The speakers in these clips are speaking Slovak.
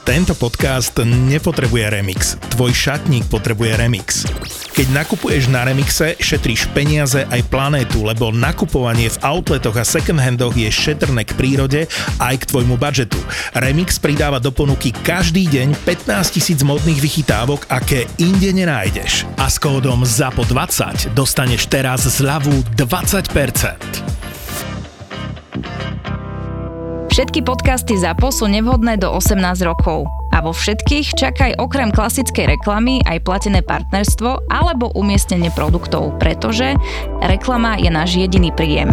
Tento podcast nepotrebuje remix. Tvoj šatník potrebuje remix. Keď nakupuješ na Remixe, šetríš peniaze aj planétu, lebo nakupovanie v outletoch a second-handoch je šetrné k prírode aj k tvojmu budžetu. Remix pridáva do ponuky každý deň 15 000 modných vychytávok, aké inde nenájdeš. A s kódom ZAPO20 dostaneš teraz zľavu 20%. Všetky podcasty ZAPO sú nevhodné do 18 rokov. A vo všetkých čakaj okrem klasickej reklamy aj platené partnerstvo alebo umiestnenie produktov, pretože reklama je náš jediný príjem.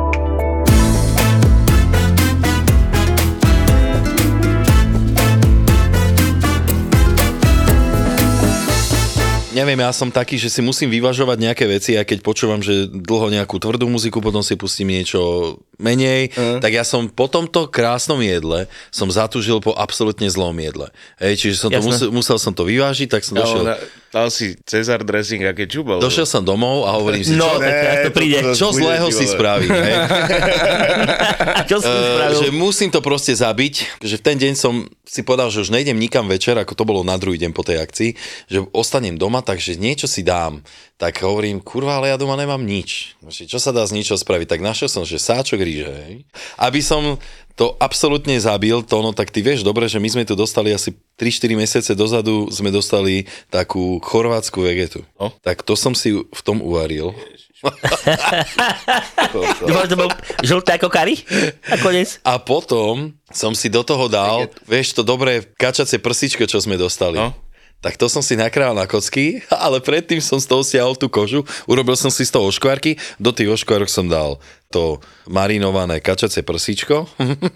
Neviem, ja som taký, že si musím vyvažovať nejaké veci a keď počúvam, že dlho nejakú tvrdú muziku, potom si pustím niečo menej, tak ja som po tomto krásnom jedle som zatúžil po absolútne zlom jedle. Čiže som to musel som to vyvážiť, tak som došiel... Dal si Cezar dressing a kečup? Došiel som domov a hovorím si, čo zlého si spravím. Čo si spravil? Že musím to proste zabiť, že v ten deň som si povedal, že už nejdem nikam večer, ako to bolo na druhý deň po tej akcii, že ostanem doma, takže niečo si dám. Tak hovorím, kurva, ale ja doma nemám nič. Čo sa dá z ničoho spraviť? Tak našiel som, že sáčok ríže, hej. Aby som to absolútne zabil, tak ty vieš dobre, že my sme tu dostali asi 3-4 mesiace dozadu, sme dostali takú chorvátsku vegetu. No? Tak to som si v tom uvaril. Dúfam, že to bol žlté ako kari? A potom som si do toho dal, vieš, to dobré kačacie prsíčko, čo sme dostali. No? Tak to som si nakrájal na kocky, ale predtým som z toho stiahol tú kožu, urobil som si z toho oškvárky, do tých oškvárok som dal to marinované kačacie prsíčko.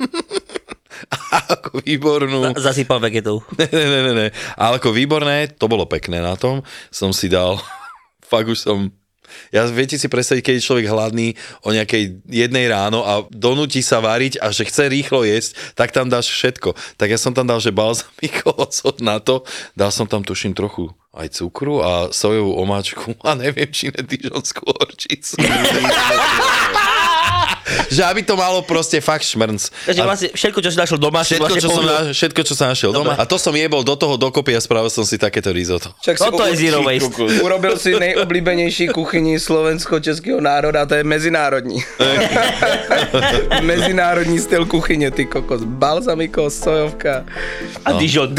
A ako výbornú... Zasypal vegetou. Ne. Ale ako výborné, to bolo pekné na tom, som si dal, fakt už som... Ja viete si predstaviť, keď je človek hladný o nejakej 1 ráno a donúti sa variť a že chce rýchlo jesť, tak tam dáš všetko. Tak ja som tam dal, že balzamiko na to, dal som tam tuším trochu aj cukru a sojovú omáčku a neviem, či ne dižonskú horčicu. Že aby to malo proste fakt šmrnc. Takže vlastne všetko, čo si našiel doma, všetko, čo sa našiel doma. A to som jebol do toho dokopy a spravil som si takéto risotto. Toto je zero waste. Urobil si nejobľúbenejší kuchyni slovensko-českého národa, to je mezinárodní. Mezinárodní styl kuchyne, ty kokos. Balzamiko, sojovka. A Dijon.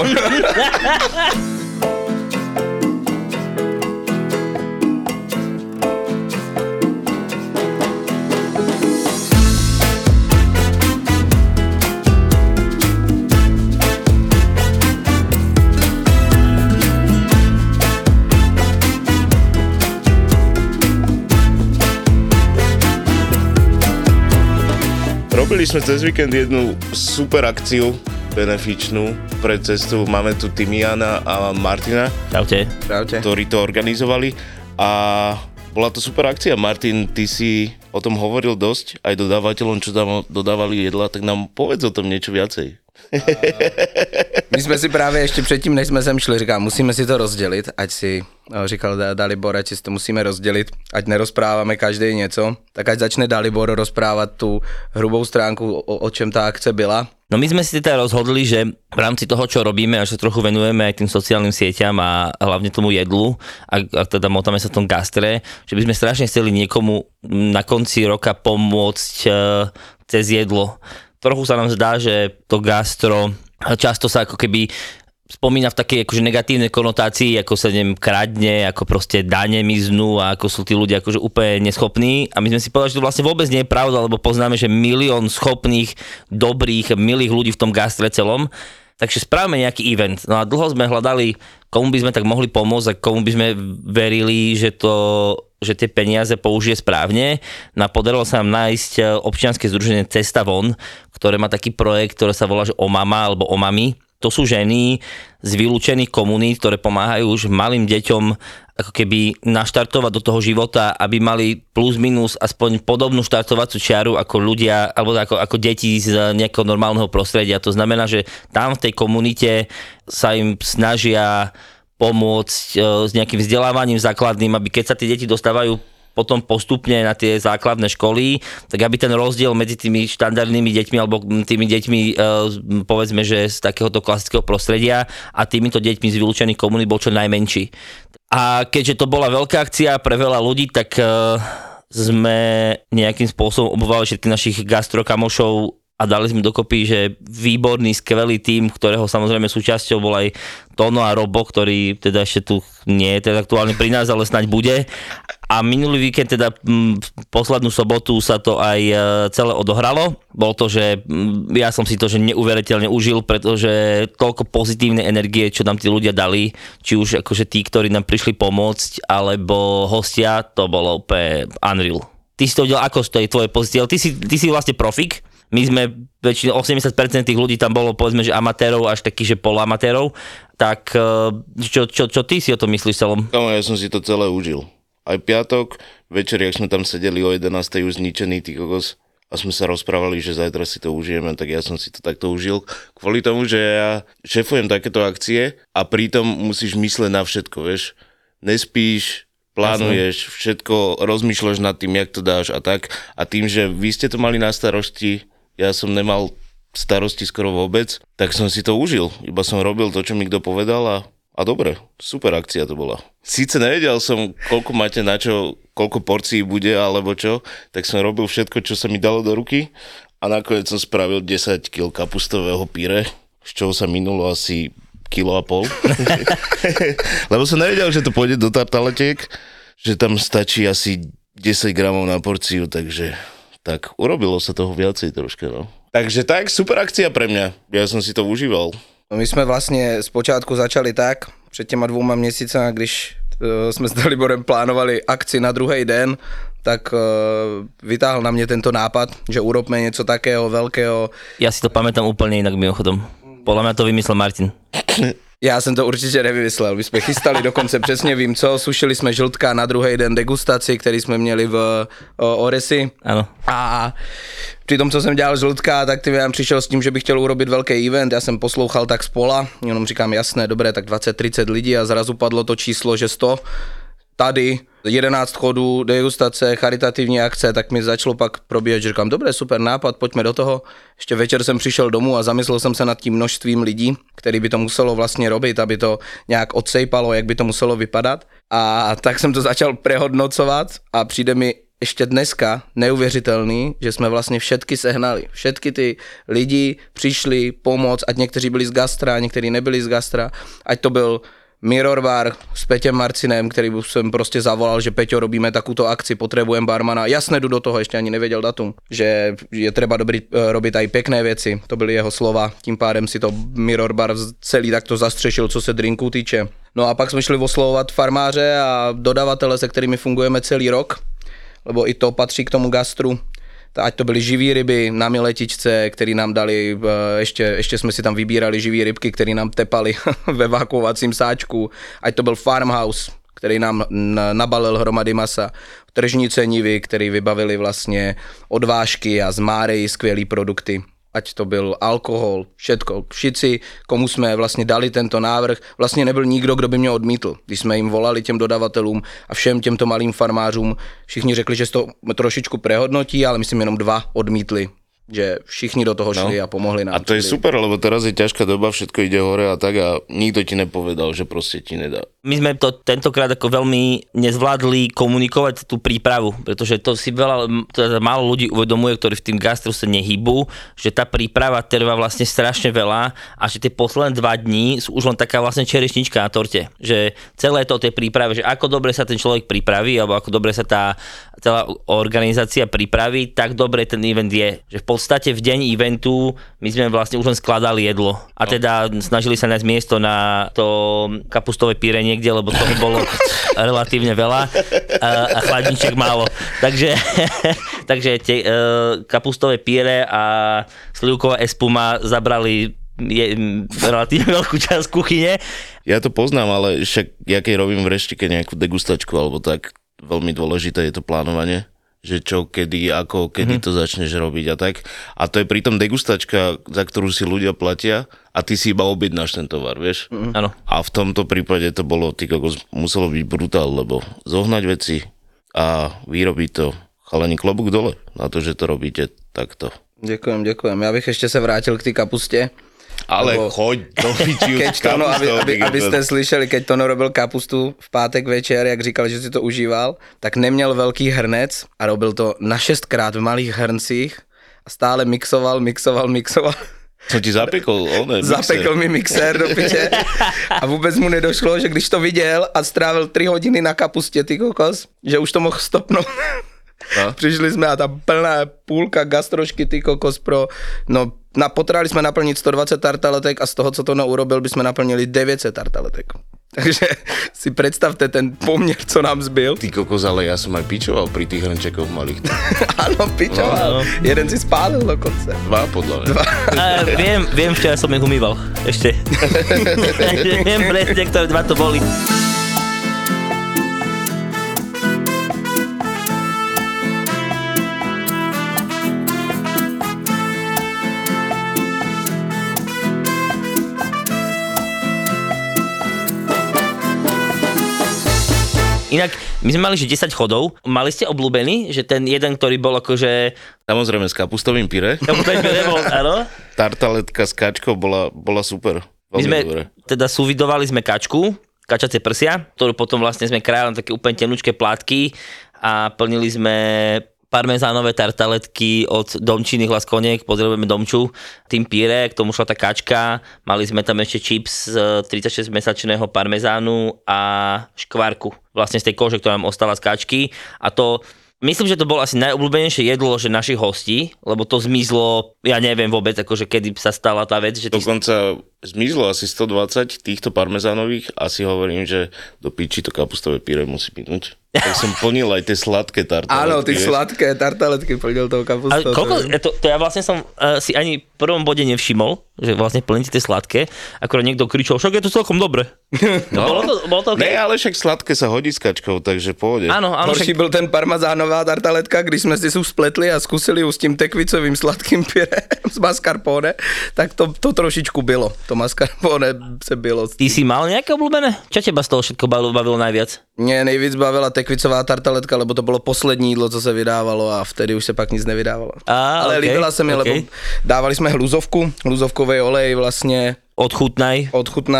Robili sme cez víkend jednu super akciu benefičnú pre cestu. Máme tu Timiana a Martina, Čaute. Ktorí to organizovali a bola to super akcia. Martin, ty si o tom hovoril dosť, aj dodávateľom, čo tam dodávali jedla, tak nám povedz o tom niečo viacej. My jsme si právě ještě předtím, než jsme sem šli, říkám, musíme si to rozdělit, ať si, říkal Dalibor, ať si to musíme rozdělit, ať nerozpráváme každý něco, tak ať začne Dalibor rozprávat tu hrubou stránku, o čem ta akce byla. No my sme si teda rozhodli, že v rámci toho, čo robíme, až sa trochu venujeme aj tým sociálnym sieťam a hlavne tomu jedlu, a teda motáme sa v tom gastre, že by sme strašne chceli niekomu na konci roka pomôcť cez jedlo. Trochu sa nám zdá, že to gastro často sa ako keby spomína v takej akože negatívnej konotácii, ako sa kradne, ako proste dane miznú a ako sú tí ľudia akože úplne neschopní. A my sme si povedali, že to vlastne vôbec nie je pravda, lebo poznáme, že 1 000 000 schopných, dobrých, milých ľudí v tom gastre celom. Takže spravíme nejaký event. No a dlho sme hľadali, komu by sme tak mohli pomôcť a komu by sme verili, že tie peniaze použije správne. No a podarilo sa nám nájsť občianske združenie Cesta von, ktoré má taký projekt, ktorý sa volá že Omama alebo Omami. To sú ženy z vylúčených komunít, ktoré pomáhajú už malým deťom ako keby naštartovať do toho života, aby mali plus minus aspoň podobnú štartovaciu čiaru ako ľudia, alebo ako deti z nejakého normálneho prostredia. To znamená, že tam v tej komunite sa im snažia pomôcť s nejakým vzdelávaním základným, aby keď sa tie deti dostávajú potom postupne na tie základné školy, tak aby ten rozdiel medzi tými štandardnými deťmi alebo tými deťmi, povedzme, že z takéhoto klasického prostredia a týmito deťmi z vylúčených komunít bol čo najmenší. A keďže to bola veľká akcia pre veľa ľudí, tak sme nejakým spôsobom obvolali všetkých našich gastrokamošov a dali sme dokopy, že výborný, skvelý tím, ktorého samozrejme súčasťou bol aj Tono a Robo, ktorý teda ešte tu nie je teda aktuálne pri nás, ale snáď bude. A minulý víkend, teda poslednú sobotu sa to aj celé odohralo. Bolo to, že ja som si to že neuveriteľne užil, pretože toľko pozitívnej energie, čo nám tí ľudia dali, či už akože tí, ktorí nám prišli pomôcť, alebo hostia, to bolo úplne unreal. Ty si to videl, ako z tej tvojej pozície? Ty si vlastne profik. My sme väčšinou 80% tých ľudí tam bolo, povedzme, že amatérov až takých, že poloamatérov. Tak čo ty si o tom myslíš celom? Ja som si to celé užil. Aj piatok, večer, jak sme tam sedeli o 11. už zničený, ty kokos, a sme sa rozprávali, že zajtra si to užijeme, tak ja som si to takto užil. Kvôli tomu, že ja šefujem takéto akcie a pritom musíš mysleť na všetko, vieš. Nespíš, plánuješ, všetko, rozmýšľaš nad tým, jak to dáš a tak. A tým, že vy ste to mali na starosti, ja som nemal starosti skoro vôbec, tak som si to užil. Iba som robil to, čo mi kto povedal a dobre, super akcia to bola. Síce nevedel som, koľko máte na čo, koľko porcií bude alebo čo, tak som robil všetko, čo sa mi dalo do ruky a nakoniec som spravil 10 kg kapustového pyré, z čoho sa minulo asi 1,5 kg. Lebo som nevedel, že to pôjde do tartaletiek, že tam stačí asi 10 gramov na porciu, takže tak urobilo sa toho viacej troška, no. Takže tak, super akcia pre mňa, ja som si to užíval. No my jsme vlastně zpočátku začali tak, před těma 2 měsícema, když jsme s Daliborem plánovali akci na druhý den, tak vytáhl na mě tento nápad, že urobme něco takého veľkého. Ja si to pamätám úplne inak mimochodom. Podľa mňa to vymyslel Martin. Já jsem to určitě nevymyslel, my jsme chystali dokonce přesně vím co, sušili jsme žltka na druhý den degustaci, který jsme měli v Oresi. Ano. A při tom, co jsem dělal žltka, tak ty já přišel s tím, že bych chtěl urobit velký event, já jsem poslouchal tak spola, jenom říkám jasné, dobré, tak 20-30 lidí a zrazu padlo to číslo, že 100. Tady 11 chodů, degustace, charitativní akce, tak mi začalo pak probíhat, že říkám, dobré, super nápad, pojďme do toho. Ještě večer jsem přišel domů a zamyslel jsem se nad tím množstvím lidí, který by to muselo vlastně robit, aby to nějak odsejpalo, jak by to muselo vypadat. A tak jsem to začal prehodnocovat a přijde mi ještě dneska neuvěřitelný, že jsme vlastně všetky sehnali. Všetky ty lidi přišli pomoct, ať někteří byli z gastra, někteří nebyli z gastra, ať to byl Mirror Bar s Peťem Marcinem, který jsem prostě zavolal, že Peťo, robíme takúto akci, potrebujem barmana. Jasne, jdu do toho, ještě ani nevěděl datum, že je treba robit aj pekné věci. To byly jeho slova, tím pádem si to Mirror Bar celý takto zastřešil, co se drinků týče. No a pak jsme šli oslovovat farmáře a dodavatele, se kterými fungujeme celý rok, lebo i to patří k tomu gastru. Ať to byly živý ryby na miletičce, který nám dali, ještě jsme si tam vybírali živý rybky, který nám tepali ve vakuovacím sáčku. Ať to byl Farmhouse, který nám nabalil hromady masa. Tržní cenivy, který vybavili vlastně odvážky a z Máreji skvělý produkty. Ať to byl alkohol, všetko. Všichni, komu jsme vlastně dali tento návrh, vlastně nebyl nikdo, kdo by mě odmítl. Když jsme jim volali těm dodavatelům a všem těmto malým farmářům, všichni řekli, že to trošičku prehodnotí, ale myslím jenom 2 odmítli. Že všichni do toho šli a pomohli nám. A to je super, lebo teraz je ťažká doba, všetko ide hore a tak a nikto ti nepovedal, že proste ti nedá. My sme to tentokrát ako veľmi nezvládli komunikovať tú prípravu, pretože to si teda málo ľudí uvedomuje, ktorí v tým gastru sa nehýbu, že tá príprava trvá vlastne strašne veľa a že tie posledné 2 dní sú už len taká vlastne čerešnička na torte. Že celé to o tej príprave, že ako dobre sa ten človek pripraví, alebo ako dobre sa tá celá organizácia pripraví, tak dobre ten event je. Že v podstate v deň eventu my sme vlastne už len skladali jedlo. A teda snažili sa nájsť miesto na to kapustové pyré niekde, lebo toho bolo relatívne veľa a chladniček málo. Takže tie kapustové pyré a slivková espuma zabrali relatívne veľkú časť kuchyne. Ja to poznám, ale však ja keď robím v reštike nejakú degustačku alebo tak, veľmi dôležité je to plánovanie, že čo, kedy, ako, kedy to začneš robiť a tak. A to je pritom degustačka, za ktorú si ľudia platia a ty si iba objednáš ten tovar, vieš? Áno. A v tomto prípade to bolo, muselo byť brutál, lebo zohnať veci a vyrobí to chalani klobúk dole na to, že to robíte takto. Děkujem. Já bych ještě se vrátil k té kapustě. Ale choď do piči už kapustou. Abyste slyšeli, keď Tono robil kapustu v pátek večer, jak říkal, že si to užíval, tak neměl velký hrnec a robil to na 6krát v malých hrncích a stále mixoval. Som ti zapekol, Zapekl mi mixér do piče a vůbec mu nedošlo, že když to viděl a strávil 3 hodiny na kapustě, ty kokos, že už to mohl stopnout. No. Přišli jsme a ta plná půlka gastrošky, ty kokos potřebovali jsme naplnit 120 tartaletek a z toho, co to urobil, bychom naplnili 900 tartaletek. Takže si predstavte ten poměr, co nám zbyl. Ty kokos, ale ja som aj pičoval pri tých hrnčekoch malých. Áno, pičoval. No. Jeden si spálil dokonce. 2 podľa mňa. Viem, včera som ich umýval. Ešte. Viem presne, ktoré 2 to boli. Inak, my sme mali, že 10 chodov. Mali ste obľúbený, že ten jeden, ktorý bol akože... Samozrejme, s kapustovým pyré. Kapustovým pyré bol, áno. Tartaletka s kačkou bola super. My sme teda súvidovali sme kačku, kačacie prsia, ktorú potom vlastne sme krájali na také úplne tenučké plátky a plnili sme parmezánové tartaletky od Domčiny Hlas Koniek, pozdravujeme Domču, tým pyré, k tomu šla tá kačka, mali sme tam ešte čips z 36-mesačného parmezánu a škvárku, vlastne z tej kože, ktorá nám ostala z kačky a to... Myslím, že to bolo asi najobľúbenejšie jedlo, že našich hostí, lebo to zmizlo, ja neviem vôbec, akože kedy sa stala tá vec. Že Dokonca zmizlo asi 120 týchto parmezánových a si hovorím, že do piči to kapustové pyré musí minúť. Tak som plnil aj tie sladké tartaletky. Áno, tie sladké tartaletky plnil toho kapustové. Ale koľko, to ja vlastne som si ani v prvom bode nevšimol, že vlastne plníte tie sladké, akorát niekto kričal, však je to celkom dobre. No, bolo to okay? Ne, ale však sladké sa hodí s kačkou, takže pohode. Áno, horší byl ten parmezánová tartaletka, když jsme si spletli a zkusili ju s tím tekvicovým sladkým pyrém z mascarpone, tak to trošičku bylo. To mascarpone se bylo. Ty si mal nejaké obľúbené? Čo teba z toho všetko bavilo najviac? Mě nejvíc bavila tekvicová tartaletka, lebo to bylo poslední jídlo, co se vydávalo a vtedy už se pak nic nevydávalo. Ale okay, líbila se mi, lebo dávali jsme hluzovkový olej vlastně. Odchutnaj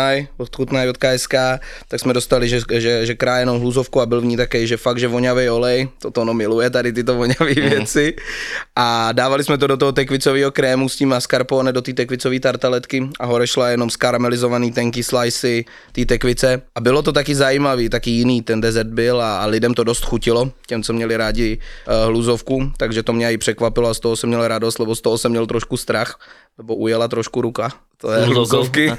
od KSK, tak jsme dostali, že krájenou hluzovku a byl v ní také, že fakt, že voňavý olej, to ono miluje tady tyto voňavé věci a dávali jsme to do toho tekvicového krému s tím mascarpone do té tekvicové tartaletky a hore šla jenom skaramelizovaný tenký slicy té tekvice a bylo to taky zajímavý, taky jiný ten dezert byl a lidem to dost chutilo, těm, co měli rádi hluzovku, takže to mě i překvapilo a z toho jsem měl radost, lebo z toho jsem měl trošku strach, lebo ujela trošku ruka. To je hluzovky.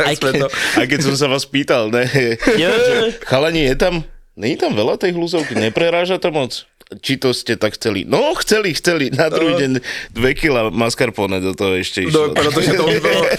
A keď som sa vás pýtal, ne? Chalani, není tam veľa tej hluzovky, nepreráža to moc? Či to ste tak chceli? No, chceli, na druhý deň 2 kila mascarpone do toho ešte išlo. No, protože to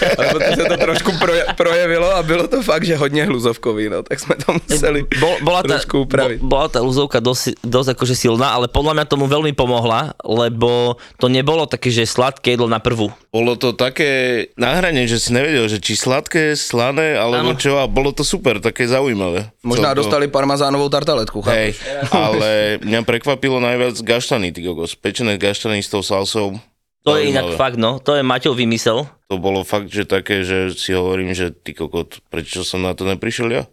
to trošku projevilo a bylo to fakt, že hodně hluzovkový, no, tak jsme to museli trošku upraviť. Bola tá hluzovka dosť akože silná, ale podľa mňa tomu veľmi pomohla, lebo to nebolo také, že sladké jedlo na prvú. Bolo to také na hrane, že si nevedel, že či sladké, slané, alebo čo, a bolo to super, také zaujímavé. Možná dostali parmazánovou tartaletku, chápeš? Ale mňa prekvapilo najviac gaštany, ty kokos, pečené gaštany s tou salsou. To je inak fakt, no, to je Maťov vymysel. To bolo fakt, že také, že si hovorím, že ty kokot, prečo som na to neprišiel ja?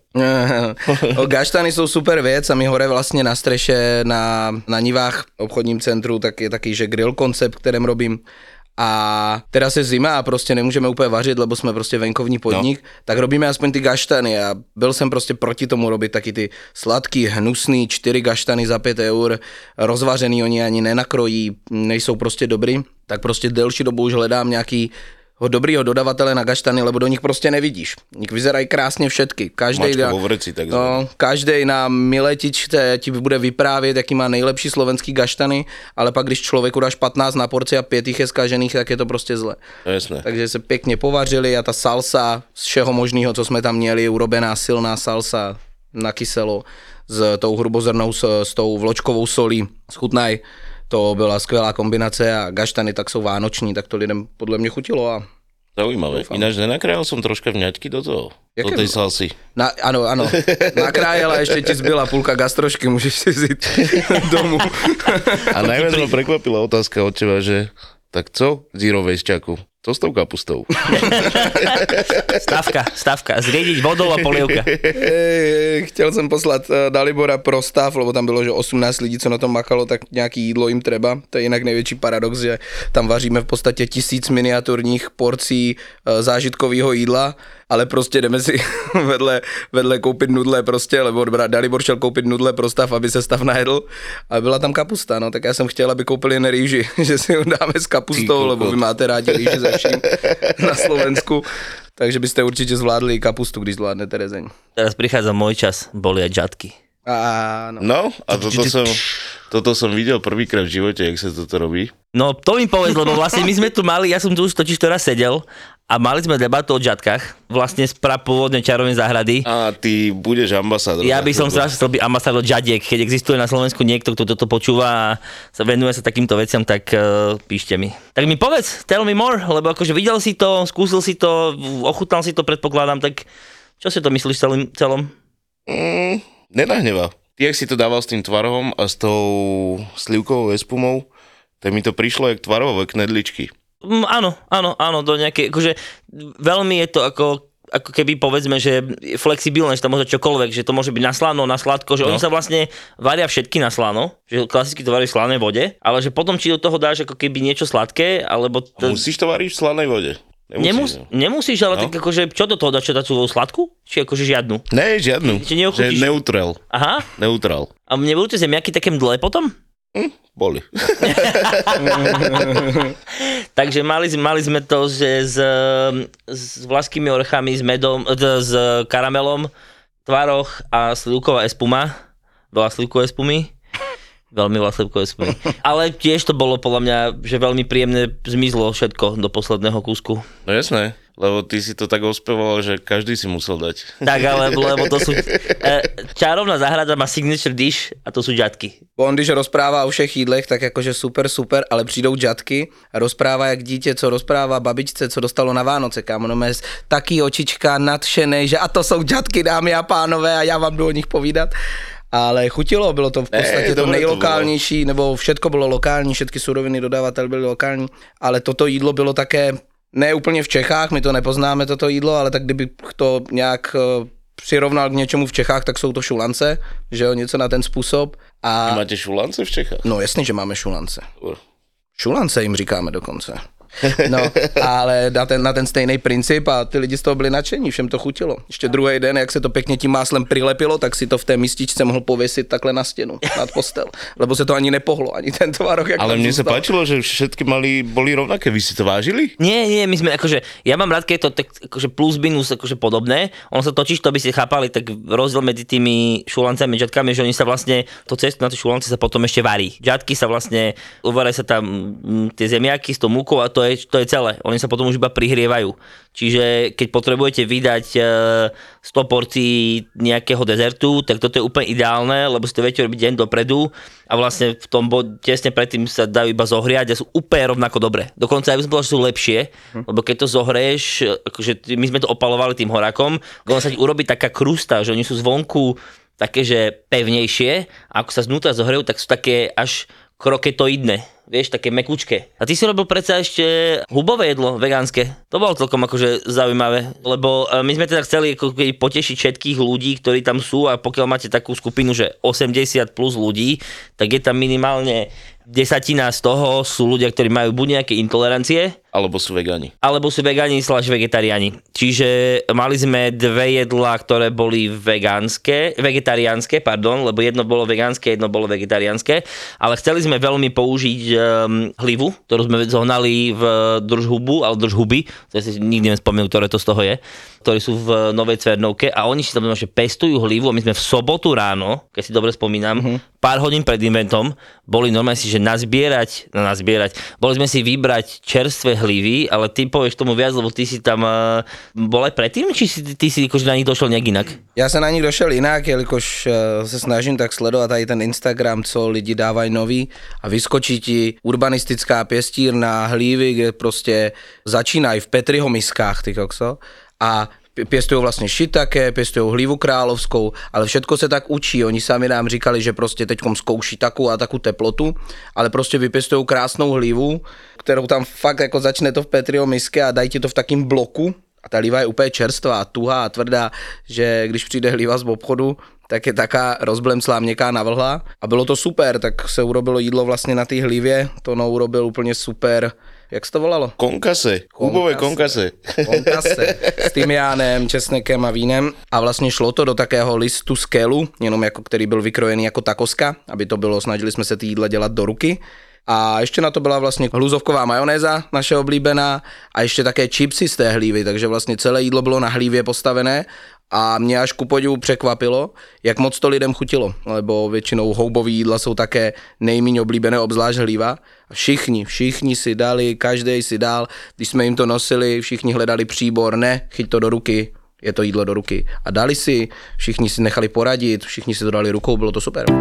Gaštany jsou super věc a my hore vlastně na streše na Nivách obchodním centru tak je taký, že grill koncept, kterým robím. A teraz je zima a prostě nemůžeme úplně vařit, lebo jsme prostě venkovní podnik, tak robíme aspoň ty gaštany a byl jsem prostě proti tomu robit taky ty sladký, hnusný 4 gaštany za 5 eur, rozvařený, oni ani nenakrojí, nejsou prostě dobrý, tak prostě delší dobu už hledám nějaký dobrýho dodavatele na gaštany, lebo do nich prostě nevidíš. Vyzerají krásně všetky. Každej na miletičce ti bude vyprávět, jaký má nejlepší slovenský gaštany, ale pak když člověku dáš 15 na porci a 5 jich je zkažených, tak je to prostě zle. Jasné. Takže se pěkně povařili a ta salsa z všeho možného, co jsme tam měli, urobená silná salsa na kyselo s tou hrubozrnou, s tou vločkovou solí, schutnaj. To byla skvělá kombinace a gaštany tak jsou vánoční, tak to lidem podle mě chutilo a Zaujímavé. Ináč nenakrájal som troška vňaťky do toho. Do tej salsy. Áno. Nakrájala, ešte ti zbyla púlka gastrošky, môžeš si ziť domu. A najviac ma prekvapila otázka od teba, že tak co zero wasteťaku? Co s tou kapustou? Stavka. Zriediť vodou a polievka. Chtěl jsem poslat Dalibora pro stav, lebo tam bylo, že 18 lidí, co na tom makalo, tak nějaký jídlo jim treba. To je jinak největší paradox, že tam vaříme v podstatě 1000 miniaturních porcí zážitkového jídla, ale prostě jdeme si vedle koupit nudle prostě, lebo Dalibor šel koupit nudle pro stav, aby se stav najedl a byla tam kapusta, no tak já jsem chtěl, aby koupili jen rýži, že si ho dáme s kapustou, lebo vy máte rádi rýži ze vším na Slovensku. Takže byste určite zvládli kapustu, když zvládnete rezeň. Teraz prichádza môj čas, boli aj džatky. Áno. No, a toto som videl prvýkrát v živote, jak sa toto robí. No, to mi povedz, lebo vlastne my sme tu mali, ja som tu už totiž teraz sedel a mali sme debatu o džatkách, vlastne z prapôvodnej čarovnej záhrady. A ty budeš ambasádor. Ja by som strašne chcel byť ambasádor džadiek, keď existuje na Slovensku niekto, kto toto počúva a sa venuje sa takýmto veciam, tak píšte mi. Tak mi povedz, tell me more, lebo akože videl si to, skúsil si to, ochutnal si to, predpokladám, tak čo si to myslíš celom? Nenahneva. Ty, jak si to dával s tým tvarohom a s tou slivkovou espumou, tak mi to prišlo jak tvarové knedličky. Áno, do nejakej, akože veľmi je to ako keby povedzme, že flexibilné, že to môže čokoľvek, že to môže byť na slano, na sladko, že oni sa vlastne varia všetky na slano, že klasicky to varí v slanej vode, ale že potom či do toho dáš ako keby niečo sladké, alebo... Musíš to variť v slanej vode. Nemusíš, ale tak akože, čo do toho dáš, čo dať tú sladkú? Či akože žiadnu? Ne, žiadnu. Že neutrál. Aha. Neutrál. A nebudú tie zemiaky také mdlé potom? Boli. Takže mali sme to, že s vlašskými orechami, s medom, s karamelom, tvaroh a slivková espuma. Veľa slivkovej espumy. Veľmi veľa slivkovej espumy. Ale tiež to bolo podľa mňa, že veľmi príjemne zmizlo všetko do posledného kúsku. No jasné. Lebo ty si to tak ospevoval, že každý si musel dať. Tak, ale lebo to sú... čarovná záhrada má signature dish a to sú džatky. On když rozprává o všech jídlech, tak jakože super, ale přijdou džatky a rozprává jak dítě, co rozprává babičce, co dostalo na Vánoce, kámo, no mé taký očička nadšenej, že a to jsou džatky, dámy a pánové, a já vám jdu o nich povídat. Ale chutilo, bylo to v podstatě to nejlokálnější, nebo všetko bylo lokální, všetky suroviny dodávatel byly lokální, ale toto jídlo bylo také, ne úplně v Čechách, my to nepoznáme toto jídlo, ale tak kdybych to nějak přirovnal k něčemu v Čechách, tak jsou to šulance, že jo, něco na ten způsob. A... Máte šulance v Čechách? No jasně, že máme šulance. Šulance jim říkáme dokonce. No, ale na ten stejný princip a ty lidi z toho byli nadšení, všem to chutilo. Ještě druhý den, jak se to pěkně tím máslem prilepilo, tak si to v té mističce mohl pověsit takhle na stěnu, nad postel, lebo se to ani nepohlo, ani ten tvarok. Ale mne sa páčilo, že všetky boli rovnaké, vy si to vážili? Nie, my sme akože, ja mám rád, keď je to tak akože plus minus akože podobné, ono sa točíš, to by ste chápali, tak rozdiel medzi tými šulancami a džatkami, že oni sa vlastne, to cestu na tie šulance sa potom ešte varí. Džatky sa vlastne, uvaria sa tam tie zemiaky s tou múkou a to je celé. Oni sa potom už iba prihrievajú. Čiže keď potrebujete vydať 100 porcií nejakého dezertu, tak toto je úplne ideálne, lebo si to viete robiť deň dopredu a vlastne v tom tesne predtým sa dajú iba zohriať a sú úplne rovnako dobré. Dokonca aj by som povedal, že sú lepšie, lebo keď to zohrieš, akože my sme to opalovali tým horákom, ono sa ti urobí taká krusta, že oni sú zvonku také, že pevnejšie a ako sa znútra zohrejú, tak sú také až kroketoidné, vieš, také mekučké. A ty si robil predsa ešte hubové jedlo, vegánske. To bolo celkom akože zaujímavé, lebo my sme teda chceli ako potešiť všetkých ľudí, ktorí tam sú a pokiaľ máte takú skupinu, že 80 plus ľudí, tak je tam minimálne 10 z toho sú ľudia, ktorí majú buď nejaké intolerancie, alebo sú vegáni. Alebo sú vegáni / vegetariáni. Čiže mali sme dve jedlá, ktoré boli vegetariánske, lebo jedno bolo vegánske, jedno bolo vegetariánske, ale chceli sme veľmi použiť hlivu, ktorú sme zohnali v držhubu, to si nikdy nespomínam, ktoré to z toho je, ktorí sú v Novej Cvernovke a oni si tam že pestujú hlivu a my sme v sobotu ráno, keď si dobre spomínam, pár hodín pred eventom, boli normálne si, že nazbierať, boli sme si vybrať čerstvé hlívy, ale ty povieš tomu viac, lebo ty si tam bol aj predtým, či ty si akože na nich došel nějak jinak? Já se na nich došel jinak, jelikož se snažím tak sledovat tady ten Instagram, co lidi dávají nový a vyskočí ti urbanistická pěstírna hlívy, kde prostě začínají v Petriho miskách, ty kokso, a pěstují vlastně šitake, pěstují hlívu královskou, ale všetko se tak učí. Oni sami nám říkali, že prostě teďkom zkouší takovou a takovou teplotu, ale prostě vypěstují krásnou hlívu, kterou tam fakt jako začne to v Petriho miske a dají ti to v takým bloku. A ta hlíva je úplně čerstvá, tuhá a tvrdá, že když přijde hlíva z obchodu, tak je taká rozblemslá, měkká, navlhlá. A bylo to super, tak se urobilo jídlo vlastně na té hlívě, to urobil úplně super. Jak se to volalo? Konkase, chůbové konkase. Konkase s tymiánem, česnekem a vínem. A vlastně šlo to do takého listu skelu, jenom jako který byl vykrojený jako takoska, aby to bylo, snažili jsme se ty jídla dělat do ruky. A ještě na to byla vlastně hluzovková majonéza, naše oblíbená, a ještě také chipsy z té hlívy, takže vlastně celé jídlo bylo na hlívě postavené. A mě až ku podivu překvapilo, jak moc to lidem chutilo, lebo většinou houbový jídla jsou také nejméně oblíbené, obzvlášť hlíva. A všichni si dali, každý si dal, když jsme jim to nosili, všichni hledali příbor, ne, chyť to do ruky, je to jídlo do ruky. A dali si, všichni si nechali poradit, všichni si to dali rukou, bylo to super.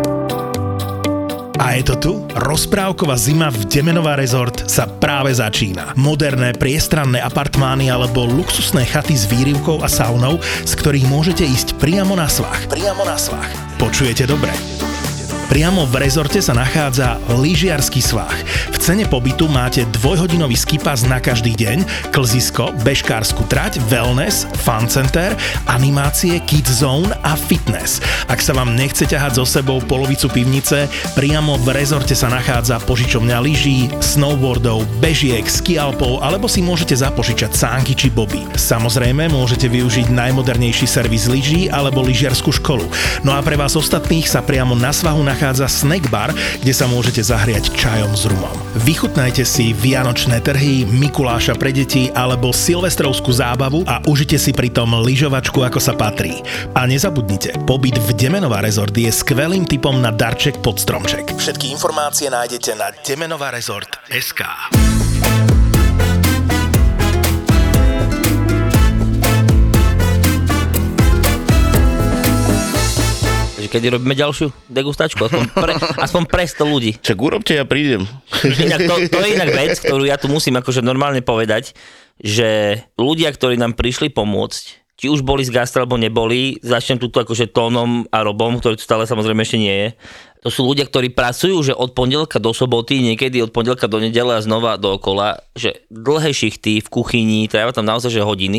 A je to tu? Rozprávková zima v Demenová Resort sa práve začína. Moderné, priestranné apartmány alebo luxusné chaty s výrivkou a saunou, z ktorých môžete ísť priamo na svah. Počujete dobre? Priamo v rezorte sa nachádza lyžiarsky svah. V cene pobytu máte 2-hodinový skipas na každý deň, klzisko, bežkársku trať, wellness, fun center, animácie, kids zone a fitness. Ak sa vám nechce ťahať so sebou polovicu pivnice, priamo v rezorte sa nachádza požičovňa lyží, snowboardov, bežiek, skialpov alebo si môžete zapožičať sánky či boby. Samozrejme môžete využiť najmodernejší servis lyží alebo lyžiarsku školu. No a pre vás ostatných sa priamo na svahu nachádza snack bar, kde sa môžete zahriať čajom s rumom. Vychutnajte si vianočné trhy, Mikuláša pre deti alebo silvestrovskú zábavu a užite si pritom lyžovačku ako sa patrí. A nezabudnite, pobyt v Demenová Resort je skvelým tipom na darček pod stromček. Všetky informácie nájdete na demenovaresort.sk. Kedy robíme ďalšiu degustačku, aspoň pre 100 ľudí. Čak urobte, ja prídem. Inak to je inak vec, ktorú ja tu musím akože normálne povedať, že ľudia, ktorí nám prišli pomôcť, či už boli z gastra, alebo neboli, začnem tuto akože Tónom a Robom, ktorý tu stále samozrejme ešte nie je. To sú ľudia, ktorí pracujú, že od pondelka do soboty, niekedy od pondelka do nedele a znova dookola, že dlhé šichty v kuchyni, trávia tam naozaj že hodiny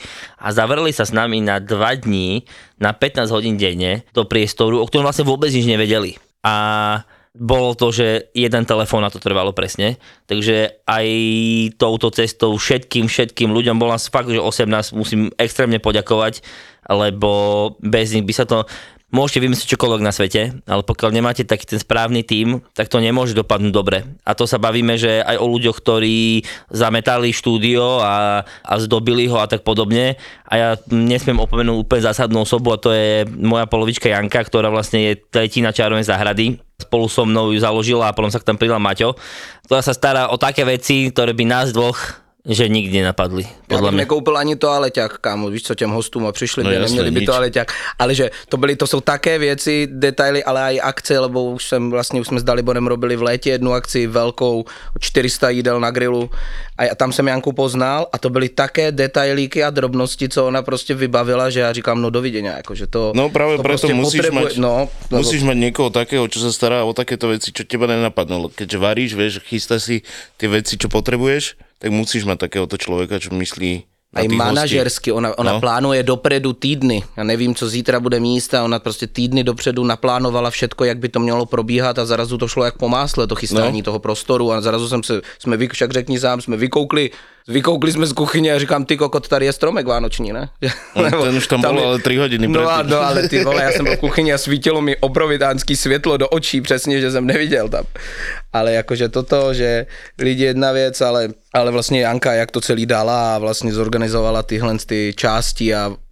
a zavreli sa s nami na 2 dní, na 15 hodín denne do priestoru, o ktorom vlastne vôbec nič nevedeli. A bolo to, že jeden telefón na to trvalo presne, takže aj touto cestou všetkým ľuďom, bol nás fakt, že 18, musím extrémne poďakovať, lebo bez nich by sa to... Môžete vymyslieť čokoľvek na svete, ale pokiaľ nemáte taký ten správny tím, tak to nemôže dopadnúť dobre. A to sa bavíme, že aj o ľuďoch, ktorí zametali štúdio a zdobili ho a tak podobne. A ja nesmiem opomenúť úplne zásadnú osobu, a to je moja polovička Janka, ktorá vlastne je tretina Čarovnej záhrady. Spolu so mnou ju založila a potom sa tam pridal Maťo, ktorá sa stará o také veci, ktoré by nás dvoch že nikdy nenapadli. Já bych nekoupil ani toaleťák, kámo, víš co, těm hostům a přišli by, neměli by toaleťák, ale že to jsou také věci, detaily, ale aj akce, lebo už jsme s Daliborem robili v létě jednu akci velkou, 400 jídel na grilu a tam jsem Janku poznal a to byly také detailíky a drobnosti, co ona prostě vybavila, že já říkám, no dovidenia, jakože to... No právě to proto prostě musíš mať niekoho takého, čo sa stará o takéto veci, čo teba nenapadlo. Keďže varíš, vieš, chystá si tie veci, čo potrebuješ, tak musíš mať takéhoto človeka, čo myslí na tých manažersky, ona plánuje dopredu týdny. Já nevím, co zítra bude míst a ona prostě týdny dopředu naplánovala všetko, jak by to mělo probíhat a zarazu to šlo jak po másle, to chystání toho prostoru a zarazu však řekni sám, jsme vykoukli jsme z kuchyně a říkám, ty kokot, tady je stromek vánoční, ne? Ten už tam bol, ale 3 hodiny predtým. No ale ty vole, já jsem byl v kuchyni a svítilo mi obrovitánský světlo do očí, přesně, že jsem neviděl tam. Ale jakože toto, že lidi jedna věc, ale vlastně Janka, jak to celý dala a vlastně zorganizovala tyhle ty části a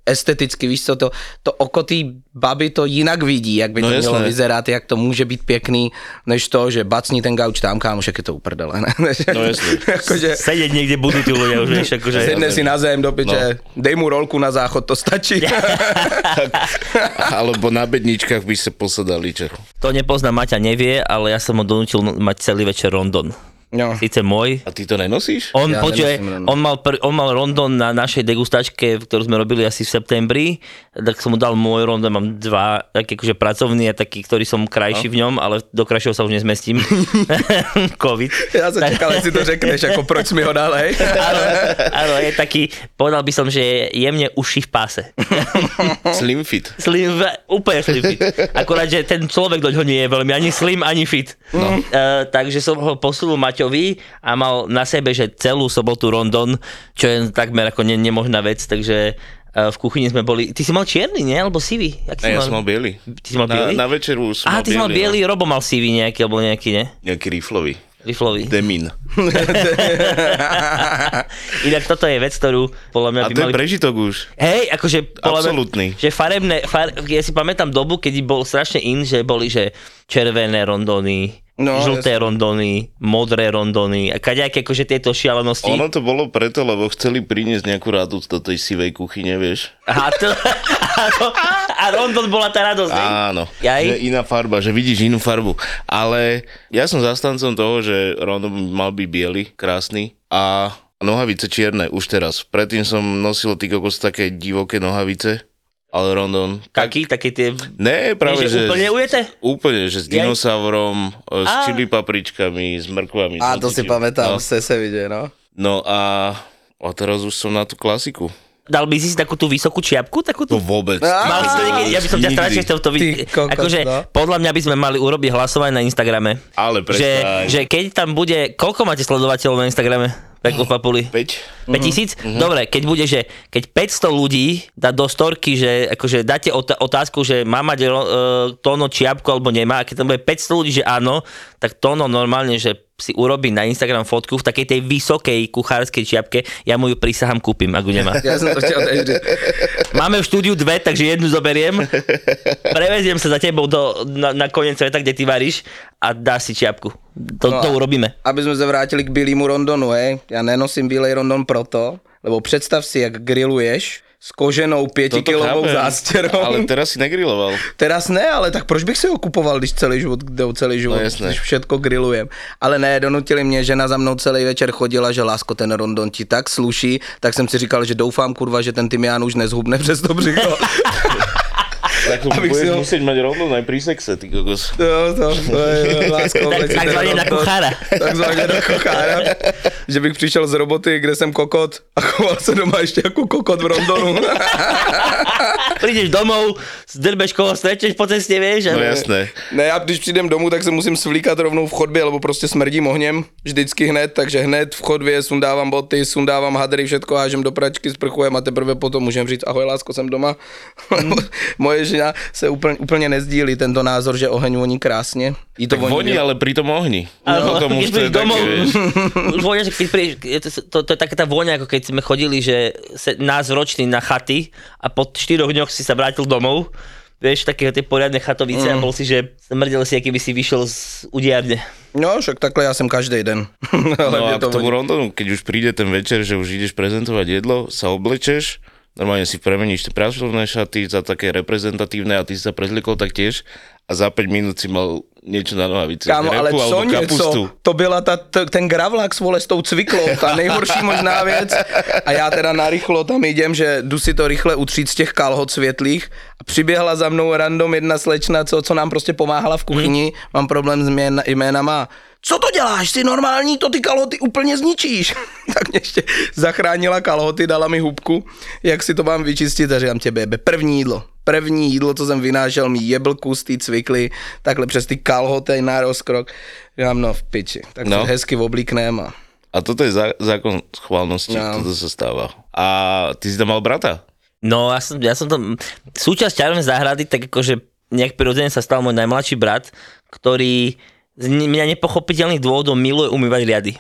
esteticky, víš co, to oko té baby to jinak vidí, jak by to mělo vyzerat, jak to může být pěkný, než to, že bacní ten gauč tam, kámoš, jak je to uprdele, ne? No jasne. Akože, Sedieť niekde budú tí ľudia už, vieš, akože... sedne si na zem do piče, dej mu rolku na záchod, to stačí. Alebo na bedničkách by sa posadali, čo? To nepozná, Maťa nevie, ale ja som ho donútil mať celý večer rondon. No. Síce môj. A ty to nenosíš? On mal rondon na našej degustačke, ktorú sme robili asi v septembri, tak som mu dal môj rondon, mám dva, taký akože pracovný a taký, ktorý som krajší v ňom, ale do krajšieho sa už nezmestím. Covid. Ja som čakal, si to řekneš, ako proč mi ho dal, hej? Áno, je taký, povedal by som, že je jemne uši v páse. Slim fit. Úplne slim fit. Akorát, že ten človek doňho nie je veľmi ani slim, ani fit. No. Takže som ho posunul Maťovi a mal na sebe, že celú sobotu rondon, čo je takmer ako nemožná vec, takže v kuchyni sme boli... Ty si mal čierny, nie? Alebo sivý? Ja som mal biely. Ty si mal biely? Na večeru som mal biely. Ty si mal biely, no. Robo mal sivý nejaký, alebo nejaký, nie? Nejaký riflový. Demin. Inak toto je vec, ktorú podľa mňa by mali... A to je prežitok už. Hej, akože... Absolutný. Že ja si pamätám dobu, keď bol strašne že boli, že červené rondony, žlté rondony, modré rondony a kaďaké akože tieto šialenosti. Ono to bolo preto, lebo chceli priniesť nejakú radosť do tej sivej kuchyne, vieš. A rondon bola tá radosť. Áno, že iná farba, že vidíš inú farbu. Ale ja som zastancom toho, že rondon mal byť biely, krásny a nohavice čierne už teraz. Predtým som nosil ty kokos také divoké nohavice. Ale rondon... Také tie... Ne, práve, že... Úplne ujete? Úplne, že s dinosaurom, s čili papričkami, s mrkvami. A to si pamätám, z vidie, no. No a teraz už som na tú klasiku. Dal by si takú tú vysokú čiapku? To vôbec. Ja by som ťa strašne chcel to vidieť. Akože podľa mňa by sme mali urobiť hlasovanie na Instagrame. Ale prestaň. Že keď tam bude... Koľko máte sledovateľov na Instagrame? Peklo papuli. 5. 5000? Dobre, keď bude, že keď 500 ľudí dá do storky, že akože dáte otázku, že má mať Tono čiapku alebo nemá, a keď tam bude 500 ľudí, že áno, tak Tono normálne, že si urobí na Instagram fotku v takej tej vysokej kuchárskej čiapke, ja mu ju prisahám, kúpim, ak ju nemá. Ja som to chcel Máme v štúdiu 2, takže jednu zoberiem, preveziem sa za tebou na koniec sveta, kde ty varíš a dáš si čiapku. To urobíme. Aby sme sa vrátili k bilému rondonu, hej. Ja nenosím bílej rondon proto, lebo predstav si, jak grilluješ s koženou 5-kilovou zásterou. Ale teraz si negrilloval. Teraz ne, ale tak proč bych si ho kupoval, když celý život, když všetko grillujem. Ale ne, donutili mě, žena za mnou celý večer chodila, že lásko, ten rondon ti tak sluší, tak jsem si říkal, že doufám, kurva, že ten tymián už nezhubne přes to břicho. Tak budeš musieť mať rondon aj pri sexe, ty kokos. To je lásko. Takzvaně na kuchára. Takzvaně na kuchára. Že bych přišel z roboty, kde jsem kokot a choval se doma ještě jako kokot v rondonu. Prídeš domov, zdrbeš koho stretneš po ceste, vieš? No jasné. Ne, já když přijdem domů, tak se musím svlíkat rovnou v chodbě, lebo prostě smrdím ohněm vždycky hned, takže hned v chodbě sundávám boty, sundávám hadry, všetko hážem do pračky, sprchujem a teprve potom můžem říct ahoj lásko, jsem doma. Moje žena se úplně nezdílí tento názor, že oheň voní krásně. To voní, ale pri tom ohni. Áno, keď prídeš domov, už vonia, že keď prídeš, to je taká tá vôňa, ako keď sme chodili, že nás roční na chaty a po 4 dňoch si sa vrátil domov, vieš, také tie poriadne chatovice a bol si, že smrdel si, aký by si vyšiel z udiárne. No, však takhle ja som každý den. No a k tomu rondonu, keď už príde ten večer, že už ideš prezentovať jedlo, sa oblečeš, normálne si premeníš tie pracovné šaty za také reprezentatívne a ty si sa prezlikol taktiež a za 5 minút si mal niečo na nohavice. Kámo, ale co něco, to byla ten gravlák vole s tou cviklou, ta nejhorší možná věc. A já teda narychlo tam jdem, že jdu si to rychle utřít z těch kalhot světlých a přiběhla za mnou random jedna slečna, co nám prostě pomáhala v kuchyni, mám problém s jménama. Co to děláš, jsi normální, to ty kalhoty úplně zničíš. Tak mě ještě zachránila kalhoty, dala mi hubku, jak si to mám vyčistit a říkám tě, První jídlo, co jsem vynášel, mi jebl kus tý cvikly, takhle přes ty kalhoty na rozkrok. Říkám, no v piči, tak no. Hezky oblíknem a toto je zákon schválnosti, toto sa stáva. A ty si tam mal brata? No, ja som tam, súčasť Čarovnej záhrady, tak akože nejak prirodzene sa stal môj najmladší brat, ktorý z mňa nepochopiteľných dôvodov miluje umývať riady.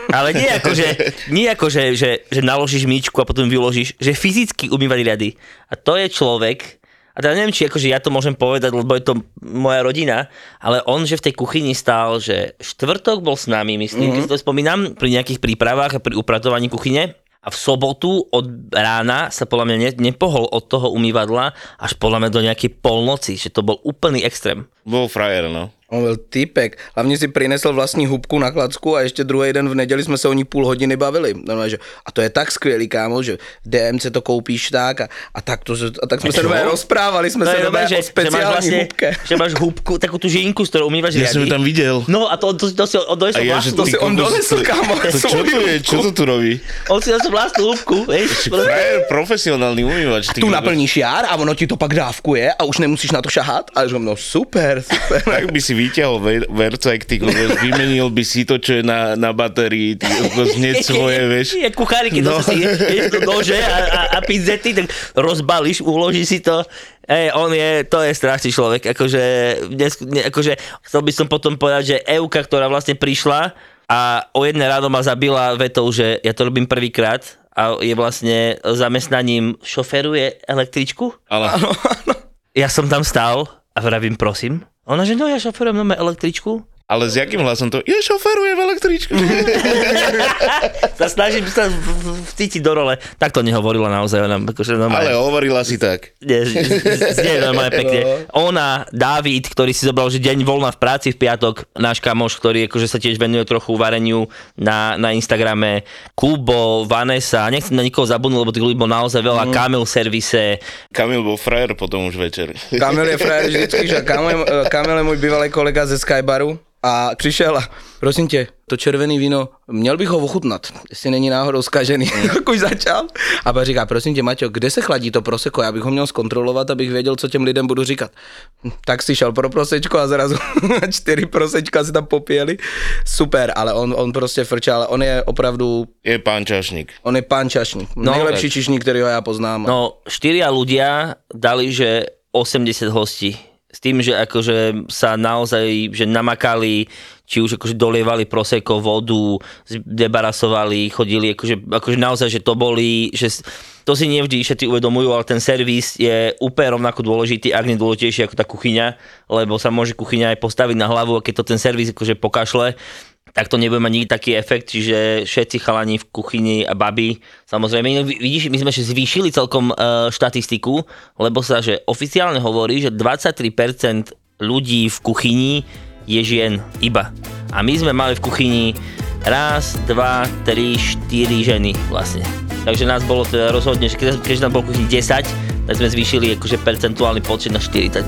Ale nie ako, že naložíš myčku a potom vyložíš, že fyzicky umývať riady. A to je človek, a teda neviem, či akože ja to môžem povedať, lebo je to moja rodina, ale on, že v tej kuchyni stál, že štvrtok bol s nami, myslím, keď si to spomínam, pri nejakých prípravách a pri upratovaní kuchyne. A v sobotu od rána sa podľa mňa nepohol od toho umývadla až podľa mňa do nejakej polnoci, že to bol úplný extrém. Bol frajer, no. On byl týpek. Hlavně si prinesl vlastní hubku na klacku a ještě druhý den v neděli jsme se o ní půl hodiny bavili. Normálně, že, a to je tak skvělý, kámo, že v DMC to koupíš tak a tak jsme se normálně rozprávali, jsme se normálně o speciální hubke. Že máš hubku, takú tú žinku, s ktorou umývaš riady. Ja som ju tam videl. No a to si odnesol vlastnú. To si on donesl, kámo. Čo to tu robí? On si donesol vlastnú hubku, vieš. Frajer, profesionálny umývač. Tu naplníš jar a ono ti to pak dávkuje a už nemusíš na to šahat. A že no super. Tak by si vyťahol vercajk, ty kokos, vymenil by si to, čo je na batérii, ty kokos, hneď svoje, vieš. Je kucháriky, to si ješ do nože a pizzety, tak rozbalíš, uložíš si to. To je strašný človek, akože chcel by som potom povedať, že Euka, ktorá vlastne prišla a o 1 ráno ma zabila vetou, že ja to robím prvýkrát a je vlastne zamestnaním šoferuje električku. Áno. Ja som tam stál a vravím, prosím. Ona, že no ja šoferujem električku. Ale s jakým hlasom to? Ja šoferujem električku. Sa snažím sa vcítiť do role. Tak to nehovorila naozaj. Ona, akože ale hovorila si tak. Nie, normálne pekne. Ona, Dávid, ktorý si zobral, že deň voľna v práci v piatok, náš kamoš, ktorý akože sa tiež venuje trochu vareniu na Instagrame, Kubo, Vanessa, nechcem na nikoho zabudnúť, lebo tých ľudí bol naozaj veľa, Kamil servise. Kamil bol frajer potom už večer. Kamil je frajer vždycky, že Kamil je můj bývalý kolega ze Skybaru. A přišel a prosím tě, to červený víno, měl bych ho ochutnat, jestli není náhodou zkažený, tak už začal. A pak říká, prosím tě, Maťo, kde se chladí to prosecco, já bych ho měl zkontrolovat, abych věděl, co těm lidem budu říkat. Tak si šel pro prosečko a zrazu 4 prosečka si tam popíjeli. Super, ale on prostě frčal, on je opravdu... Je pán čašník. On je pán čašník, nejlepší čišník, ktorýho ja poznám. No, 4 ľudia dali, že 80 hostí. S tým, že akože sa naozaj že namakali, či už akože dolievali prosecco, vodu, debarasovali, chodili, akože naozaj, že to boli, že to si nevždy všetci uvedomujú, ale ten servis je úplne rovnako dôležitý, ak nie dôležitejší ako tá kuchyňa, lebo sa môže kuchyňa aj postaviť na hlavu a keď to ten servis akože pokašle, tak to nebude mať nikdy taký efekt, čiže všetci chalani v kuchyni a baby, samozrejme, vidíš, my sme zvýšili celkom štatistiku, lebo sa, že oficiálne hovorí, že 23% ľudí v kuchyni je žien iba. A my sme mali v kuchyni 1, 2, 3, 4 ženy vlastne. Takže nás bolo teda rozhodne, že keď nám bolo v kuchyni 10, tak sme zvýšili akože percentuálny počet na 40%.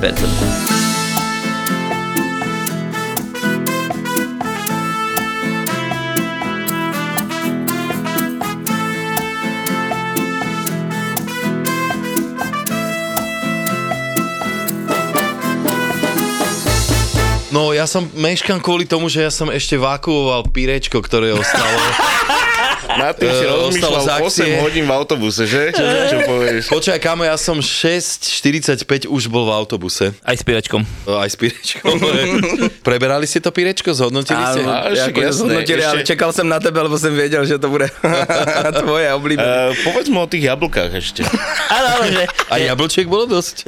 No ja som meškam kvôli tomu, že ja som ešte vakuoval pírečko, ktoré ostalo. Na tým si rozmýšľal 8 hodín v autobuse, že? Čo povieš? Počkaj, kámo, ja som 6:45 už bol v autobuse. Aj s pírečkom. Aj s pírečkom. Preberali ste to pírečko? Zhodnotili ste? Zhodnotili, ale čekal som na tebe, lebo som vedel, že to bude tvoje oblíbené. Povedz mu o tých jablkách ešte. Áno, že... A jablčiek bolo dosť.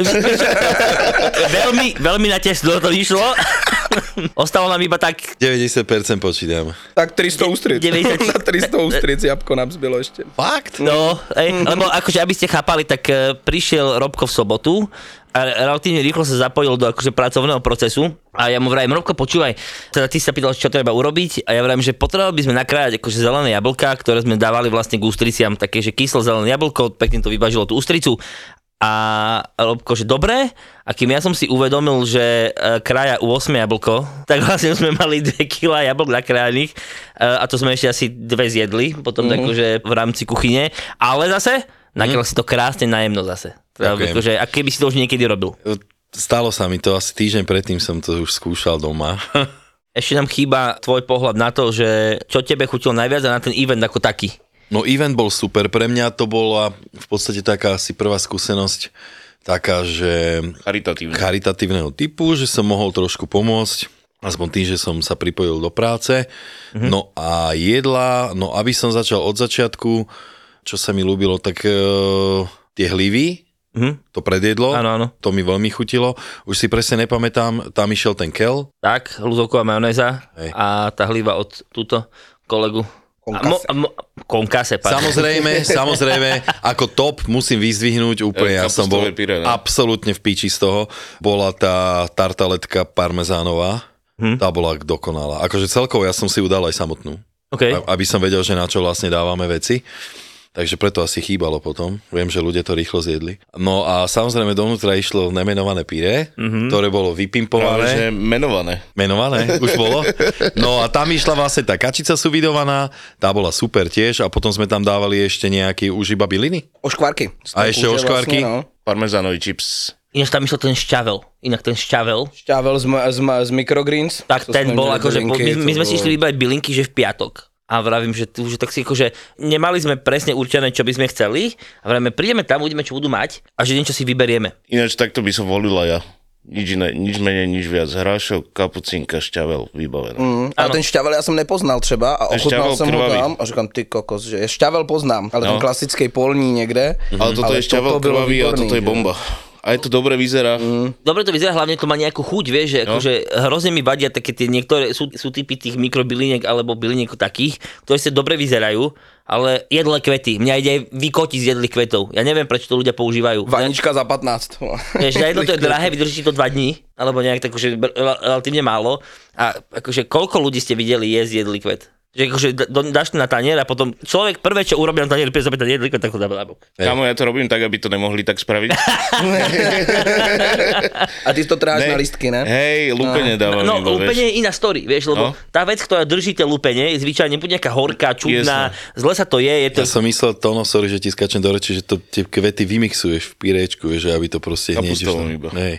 veľmi na tesno to vyšlo. Ostalo nám iba tak... 90% počítam. Tak 300 ústric. 90... Na 300 ústric jabko nám zbylo ešte. Fakt? No, lebo akože, aby ste chápali, tak prišiel Robko v sobotu a relatívne rýchlo sa zapojil do akože pracovného procesu a ja mu vrajím, Robko, počúvaj, teda ty sa pýtal, čo treba urobiť a ja vrajím, že potrebovali by sme nakrájať akože zelené jablká, ktoré sme dávali vlastne k ústriciam, také, že kyslo zelené jablko, pekne to vyvážilo tú ústricu. A Robko, že dobre, a kým ja som si uvedomil, že kraja u 8 jablko, tak vlastne sme mali 2 kg jablk nakrájaných a to sme ešte asi 2 zjedli, potom akože v rámci kuchyne, ale zase nakryl si to krásne najemno zase. Akože, a keby si to už niekedy robil? Stalo sa mi to, asi týždeň predtým som to už skúšal doma. Ešte nám chýba tvoj pohľad na to, že čo tebe chutilo najviac a na ten event ako taký. No event bol super, pre mňa to bola v podstate taká asi prvá skúsenosť, taká, že charitatívneho typu, že som mohol trošku pomôcť. aspoň tým, že som sa pripojil do práce. No a jedla, no aby som začal od začiatku, čo sa mi ľúbilo, tak tie hlivy, to predjedlo, Áno. to mi veľmi chutilo. Už si presne nepamätám, tam išiel ten kel. Tak, ľudovková majonéza Hej. a tá hliva od túto kolegu. Konkase, Samozrejme, ako top musím vyzdvihnúť úplne, ja som bol Kapustové pyré, ne? absolútne v píči z toho. Bola tá tartaletka parmezánová, tá bola dokonalá. Akože celkovo ja som si ju dal aj samotnú, Okay. aby som vedel, že na čo vlastne dávame veci. Takže preto asi chýbalo potom. Viem, že ľudia to rýchlo zjedli. No a samozrejme dovnútra išlo nemenované pyré, ktoré bolo vypimpované. Práve, že menované. Menované, už bolo. No a tam išla vlastne tá kačica suvidovaná, tá bola super tiež a potom sme tam dávali ešte nejaký už iba byliny. Oškvarky. A ešte oškvarky. Vlastne, no. Parmezánový chips. Ináč tam išiel ten šťavel. Inak ten šťavel. Šťavel z microgreens. Tak To ten sme bol mali akože, bylinky, my sme to si bolo- išli vybrať bylinky, že v piatok. A vravím, že tak si akože nemali sme presne určené, čo by sme chceli. A vravíme, prídeme tam, uvidíme, čo budú mať a že niečo si vyberieme. Ináč takto by som volila ja. Nič iné, nič menej, nič viac. Hrášok, kapucinka, šťavel, vybavené. Ale ten šťavel ja som nepoznal třeba a Ten ochutnal šťavel som ho krvavý. tam a říkám, ty kokos, že šťavel poznám, ale ten klasický polní niekde. Ale toto je šťavel bylo krvavý a výborný, toto je že? bomba. A je to dobre vyzerá. Dobre to vyzerá, hlavne to má nejakú chuť, vieš, že akože hrozne mi vadia také tie niektoré, sú typy tých mikrobyliniek alebo byliniek takých, ktoré sa dobre vyzerajú, ale jedlé kvety, mňa ide aj vykotiť z jedlých kvetov. Ja neviem, prečo to ľudia používajú. Vanička za 15. Vieš, na jedno to je drahé, vydrží ti to 2 dní, alebo nejak tak, že relatívne málo. A akože koľko ľudí ste videli jesť jedlý kvet? Že akože dáš to na tanier a potom človek prvé, čo urobí na tanier, príde zobrať ten jedlý kvet, tak ho dá na bok. Kámo, ja to robím tak, aby to nemohli tak spraviť. A ty to tráš na listky, ne? Hej, lúpenie dávam No, iba, lúpenie vieš. je iná story, vieš, lebo No. tá vec, ktorá drží tie lúpenie, je zvyčajne buď nejaká horká, čudná, zle sa to je to... Ja som myslel, sorry, že ti skačem do reči, že to tie kvety vymixuješ v pyrečku, vieš, že aby to proste hneď Kapustovom išlo. iba. Nej.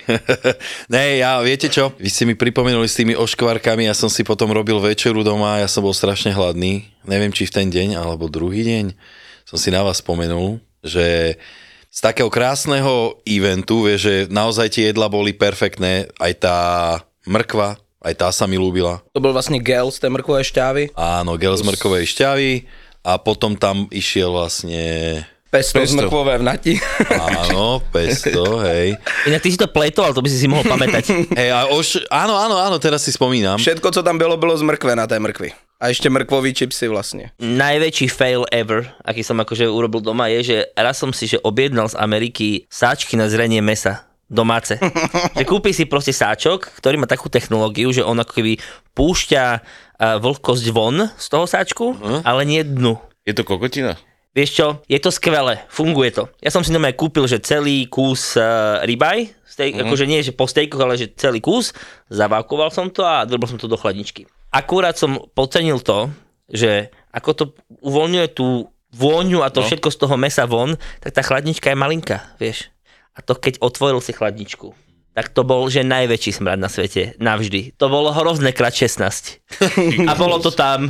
Nej, ja viete čo? Vy ste mi pripomenuli s tými oškvarkami, ja som si potom robil večeru doma, ja som bol strašne hladný. Neviem, či v ten deň, alebo druhý deň som si na vás spomenul, že z takého krásneho eventu, vieš, že naozaj tie jedla boli perfektné, aj tá mrkva, aj tá sa mi ľúbila. To bol vlastne gel z tej mrkvovej šťávy. Áno, gel z mrkovej šťavy a potom tam išiel vlastne... Pesto z mrkvové v nati. Áno, pesto, hej. Inak ty si to pletol, ale to by si mohol pamätať. Hej, a áno, teraz si spomínam. Všetko, co tam bylo z mrkve na té mrkvi. A ešte mrkvový čipsy vlastne. Najväčší fail ever, aký som akože urobil doma, je, že raz som si že objednal z Ameriky sáčky na zrenie mesa. Domáce. Že kúpi si proste sáčok, ktorý má takú technológiu, že on ako keby púšťa vlhkosť von z toho sáčku, ale nie dnu. Je to kokotina? Vieš čo, je to skvelé, funguje to. Ja som si normálne kúpil, že celý kus ribeye, akože nie, že po stejkoch, ale že celý kus, zavávkoval som to a drobil som to do chladničky. Akurát som podcenil to, že ako to uvoľňuje tú vôňu a to všetko z toho mesa von, tak tá chladnička je malinká, vieš. A to keď otvoril si chladničku, tak to bol, že najväčší smrad na svete, navždy. To bolo hrozné krát 16. A bolo to tam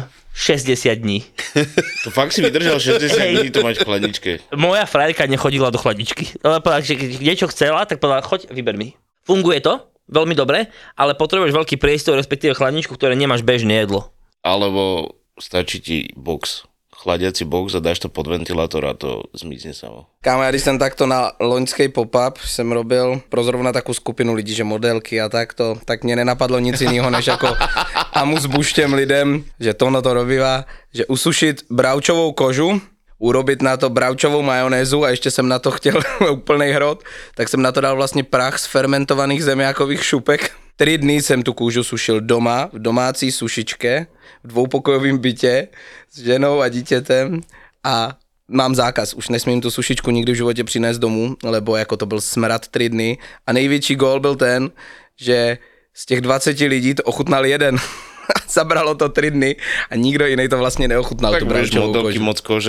60 dní. To fakt si vydržal 60 dní to mať v chladničke. Moja frajerka nechodila do chladničky. Ale povedala, že keď niečo chcela, tak povedala, choď, vyber mi. Funguje to, veľmi dobre, ale potrebuješ veľký priestor, respektíve chladničku, ktoré nemáš bežné jedlo. Alebo stačí ti box. Chladiaci box a dáš to pod ventilátor a to zmizne samo. Kámo, ja když jsem takto na loňskej pop-up jsem robil pro zrovna takú skupinu lidí, že modelky a takto, tak mě nenapadlo nic jiného, než jako amus buštěm lidem, že tohle to robívá, že usušit bravčovou kožu, urobit na to bravčovou majonézu a ještě jsem na to chtěl úplnej hrot, tak jsem na to dal vlastně prach z fermentovaných zemiákových šupek. 3 dny jsem tu kůžu sušil doma, v domácí sušičke, v dvoupokojovém bytě s ženou a dítětem a mám zákaz, už nesmím tu sušičku nikdy v životě přinést domů, lebo jako to byl smrad 3 dny a největší gól byl ten, že z těch 20 lidí to ochutnal jeden. Zabralo to 3 dny a nikdo jiný to vlastne neochutnal. Tak tú budeš bravčovú modelky kožu. moc kože.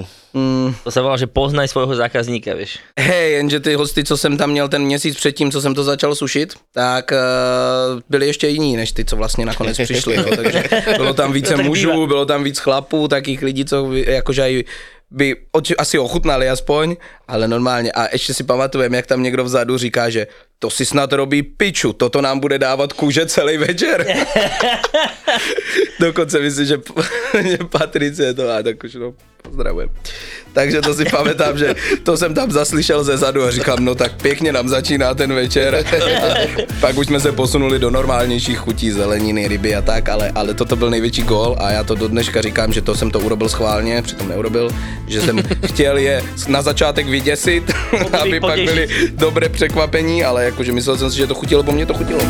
To sa volá, že poznaj svojho zákazníka, vieš. Hej, jenže ty hosty, co jsem tam měl ten měsíc předtím, co jsem to začal sušit, tak byli ještě jiní, než ty, co vlastně nakonec přišli. Jo. Takže bylo tam více tak mužů, býva. bylo tam víc chlapů, takých lidí, co jakože aj by asi ochutnali aspoň, ale normálně. A ještě si pamatujem, jak tam někdo vzadu říká, že to si snad robí piču, toto nám bude dávat kůže celý večer. Dokonce myslím, že Patricie to má, tak už no, pozdravujem. Takže to si pamätám, že to jsem tam zaslyšel ze zadu a říkám, no tak pěkně nám začíná ten večer. Pak už jsme se posunuli do normálnějších chutí, zeleniny, ryby a tak, ale toto byl největší gól a já to do dneška říkám, že to jsem to urobil schválně, přitom neurobil, že jsem chtěl je na začátek vyděsit, aby pak byly dobré překvapení, ale jakože myslel jsem si, že to chutilo, bo mě to chutilo.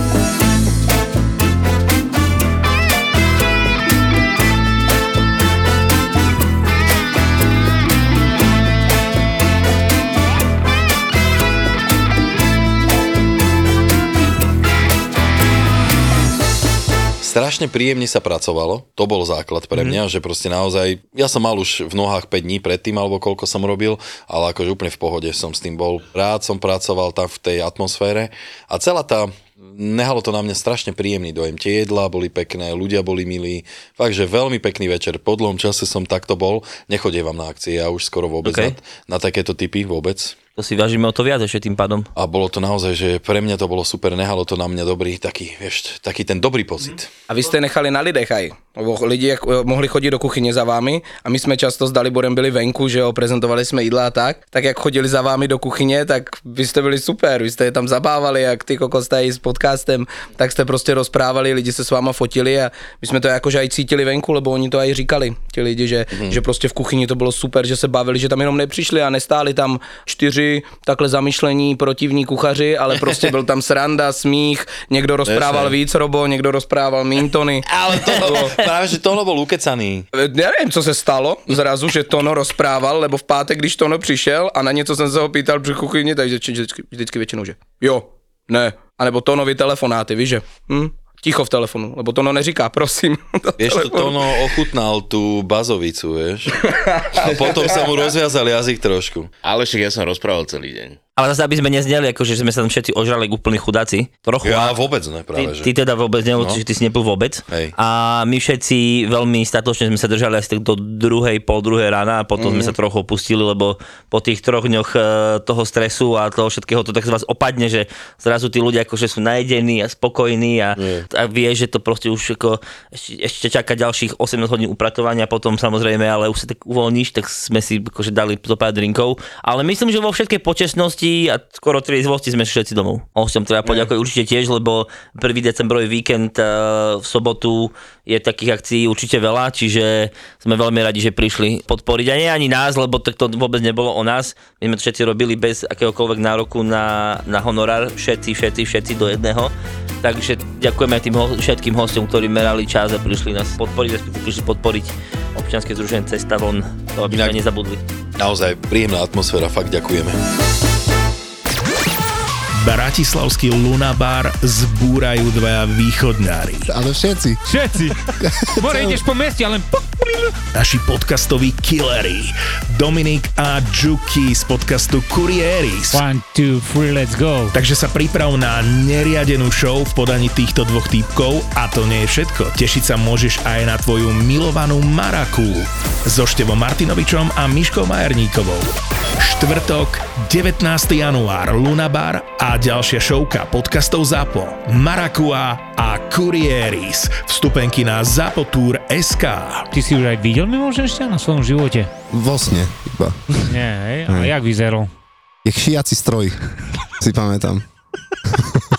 Strašne príjemne sa pracovalo, to bol základ pre mňa, že proste naozaj, ja som mal už v nohách 5 dní predtým, alebo koľko som robil, ale akože úplne v pohode som s tým bol. Rád som pracoval tam v tej atmosfére a celá tá, nehalo to na mňa strašne príjemný dojem. Tie jedlá boli pekné, ľudia boli milí, fakt, že veľmi pekný večer. Po dlhom čase som takto bol, nechodievam na akcie, ja už skoro vôbec na takéto typy vôbec. To si vážime o to viac ešte tým pádom. A bolo to naozaj, že pre mňa to bolo super, nehalo to na mňa dobrý, taký ten dobrý pocit. A vy jste nechali na lidech aj. Lidi mohli chodit do kuchyně za vámi a my jsme často s Daliborem byli venku, že jo, prezentovali jsme jídla a tak jak chodili za vámi do kuchyně, tak vy jste byli super, vy jste je tam zabávali, jak ty kokos tady s podcastem, tak jste prostě rozprávali, lidi se s váma fotili a my jsme to jakože aj cítili venku, lebo oni to aj říkali, ti lidi, že prostě v kuchyni to bylo super, že se bavili, že tam jenom nepřišli a nestáli tam 4 takhle zamyšlení protivní kuchaři, ale prostě byl tam sranda, smích, někdo rozprával víc, Robo, někdo rozprával Mintony. Ale to práve, že Tono bol ukecaný. Nevím, co se stalo zrazu, že Tono rozprával, lebo v pátek, když Tono přišel a na něco jsem se ho pýtal při kuchyni, takže vždycky většinou, že jo, ne, anebo Tonovi telefonáty, víš, že ticho v telefonu, lebo Tono neříká, prosím. Vieš, to Tono ochutnal tú bazovicu, vieš. A potom sa mu rozviazal jazyk trošku. Ale však ja som rozprával celý deň. Ale zase, aby sme nezneli, akože sme sa tam všetci ožrali úplní chudáci. Trochu. Ja vôbec ne, práve, že. Ty teda vôbec ne, čiže ty si nepil vôbec. Hej. A my všetci veľmi statočne sme sa držali asi tak do pol druhej rána a potom sme sa trochu opustili, lebo po tých 3 dňoch toho stresu a toho všetkého to tak z vás opadne, že zrazu tí ľudia akože sú najedení a spokojní a vie, že to proste už ako ešte čaká ďalších 18 hodín upratovania, potom samozrejme, ale už sa tak uvoľníš, tak sme si akože dali zo pár drinkov. Ale myslím, že vo všetkej počestnosti a skoro triezvosti sme všetci domov. Hosťom treba poďakovať určite tiež, lebo 1. decembrový víkend v sobotu je takých akcií určite veľa, čiže sme veľmi radi, že prišli podporiť. A nie ani nás, lebo to vôbec nebolo o nás. My sme to všetci robili bez akéhokoľvek nároku na honorár, všetci do jedného. Takže ďakujeme aj tým všetkým hosťom, ktorí merali čas a prišli nás podporiť, respektíve prišli podporiť občianske združenie Cesta von, to aby sme nezabudli. Naozaj príjemná atmosféra, fakt ďakujeme. Bratislavský Lunabar zbúrajú 2 východňári. Ale všetci. More ideš po meste, ale... Naši podcastoví killery. Dominik a Juki z podcastu Kurieris. 1, 2, 3, let's go. Takže sa priprav na neriadenú show v podaní týchto 2 týpkov a to nie je všetko. Tešiť sa môžeš aj na tvoju milovanú Maraku so Števom Martinovičom a Miškou Majerníkovou. Štvrtok, 19. január, Lunabar a ďalšia showka podcastov ZAPO, Marakua a Kurieris. Vstupenky na zapotour.sk. Ty si už aj videl mimoženšťa na svojom živote? Vo sne iba. Nie, hej? A jak vyzeral? Jak šiaci stroj, si pamätám.